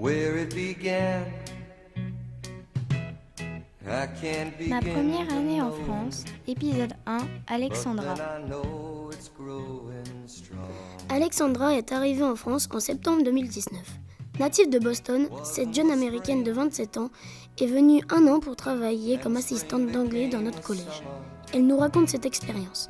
where it began. I can't begin. Ma première année en France, épisode 1, Alexandra. Alexandra est arrivée en France en septembre 2019. Native de Boston, cette jeune américaine de 27 ans est venue 1 an pour travailler comme assistante d'anglais dans notre collège. Elle nous raconte cette expérience.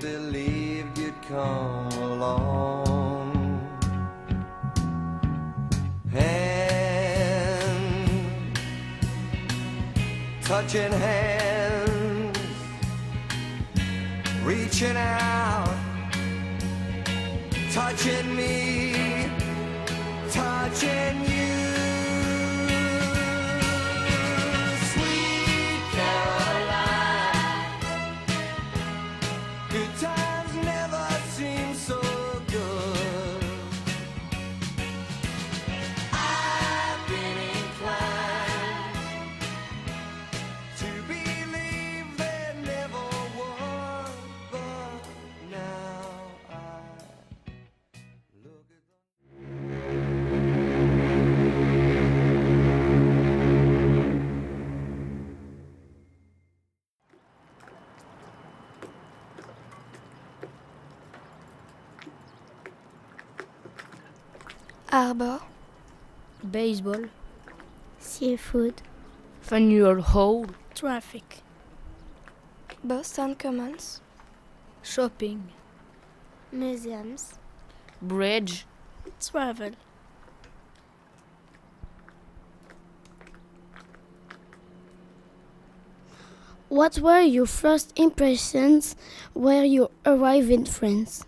Touching hands, reaching out, touching me, touching you. Sweet Caroline, good times never seem so good. I've been inclined to believe there never was, but now I look at Harbor, Baseball, Seafood, Faneuil Hall, Traffic, Boston Commons, Shopping, Museums. Bridge, Travel. What were your first impressions when you arrived in France?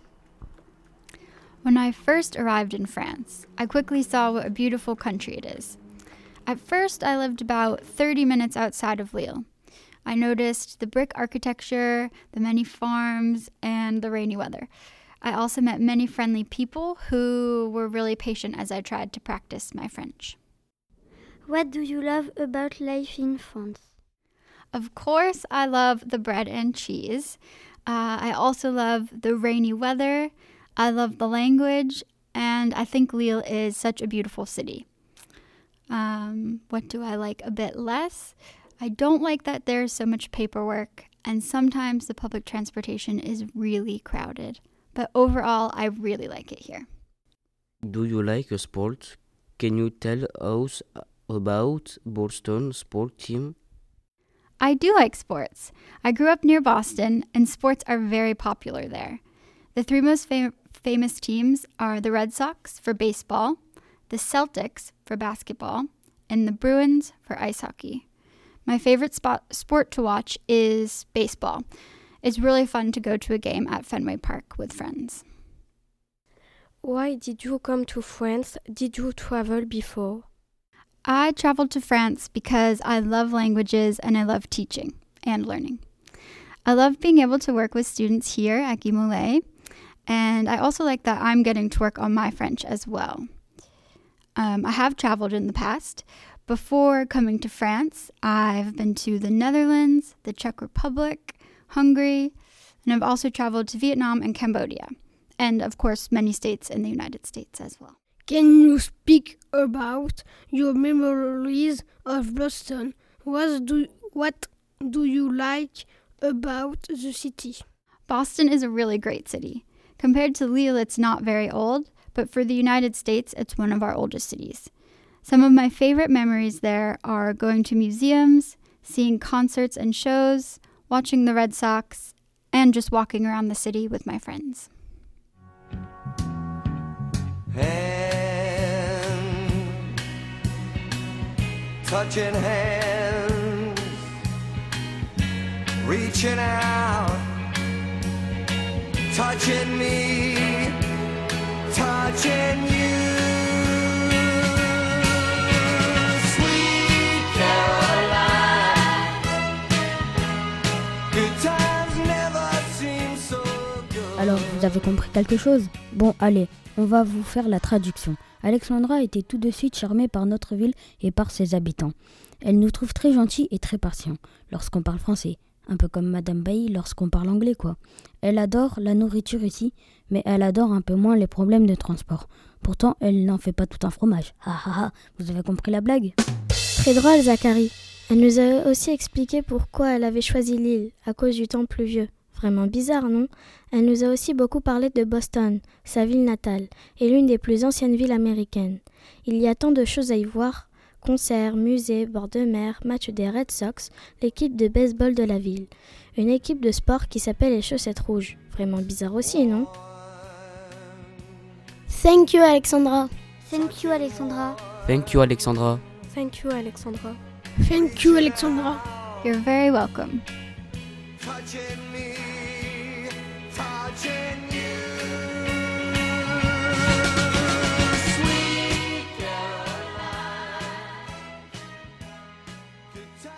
When I first arrived in France, I quickly saw what a beautiful country it is. At first, I lived about 30 minutes outside of Lille. I noticed the brick architecture, the many farms, and the rainy weather. I also met many friendly people who were really patient as I tried to practice my French. What do you love about life in France? Of course, I love the bread and cheese. I also love the rainy weather. I love the language, and I think Lille is such a beautiful city. What do I like a bit less? I don't like that there's so much paperwork, and sometimes the public transportation is really crowded. But overall, I really like it here. Do you like a sport? Can you tell us about Boston sport team? I do like sports. I grew up near Boston, and sports are very popular there. The three most famous teams are the Red Sox for baseball, the Celtics for basketball, and the Bruins for ice hockey. My favorite sport to watch is baseball. It's really fun to go to a game at Fenway Park with friends. Why did you come to France? Did you travel before? I traveled to France because I love languages and I love teaching and learning. I love being able to work with students here at Guy Mollet, and I also like that I'm getting to work on my French as well. I have traveled in the past. Before coming to France, I've been to the Netherlands, the Czech Republic, Hungary, and I've also traveled to Vietnam and Cambodia, and of course many states in the United States as well. Can you speak about your memories of Boston? What do you like about the city? Boston is a really great city. Compared to Lille, it's not very old, but for the United States, it's one of our oldest cities. Some of my favorite memories there are going to museums, seeing concerts and shows, watching the Red Sox, and just walking around the city with my friends. Touching hands, reaching out, touching me, touching you. Sweet Caroline, good times never seem so good. Alors, vous avez compris quelque chose? Bon, allez, on va vous faire la traduction. Alexandra était tout de suite charmée par notre ville et par ses habitants. Elle nous trouve très gentils et très patients lorsqu'on parle français. Un peu comme Madame Bailly lorsqu'on parle anglais, quoi. Elle adore la nourriture ici, mais elle adore un peu moins les problèmes de transport. Pourtant, elle n'en fait pas tout un fromage. Ah ah ah, vous avez compris la blague? Très drôle, Zachary. Elle nous a aussi expliqué pourquoi elle avait choisi l'île, à cause du temps pluvieux. Vraiment bizarre, non? Elle nous a aussi beaucoup parlé de Boston, sa ville natale, et l'une des plus anciennes villes américaines. Il y a tant de choses à y voir. Concerts, musées, bords de mer, matchs des Red Sox, l'équipe de baseball de la ville. Une équipe de sport qui s'appelle les Chaussettes Rouges. Vraiment bizarre aussi, non? Thank you, Alexandra. Thank you, Alexandra. Thank you, Alexandra. Thank you, Alexandra. Thank you, Alexandra. You're very welcome. touching me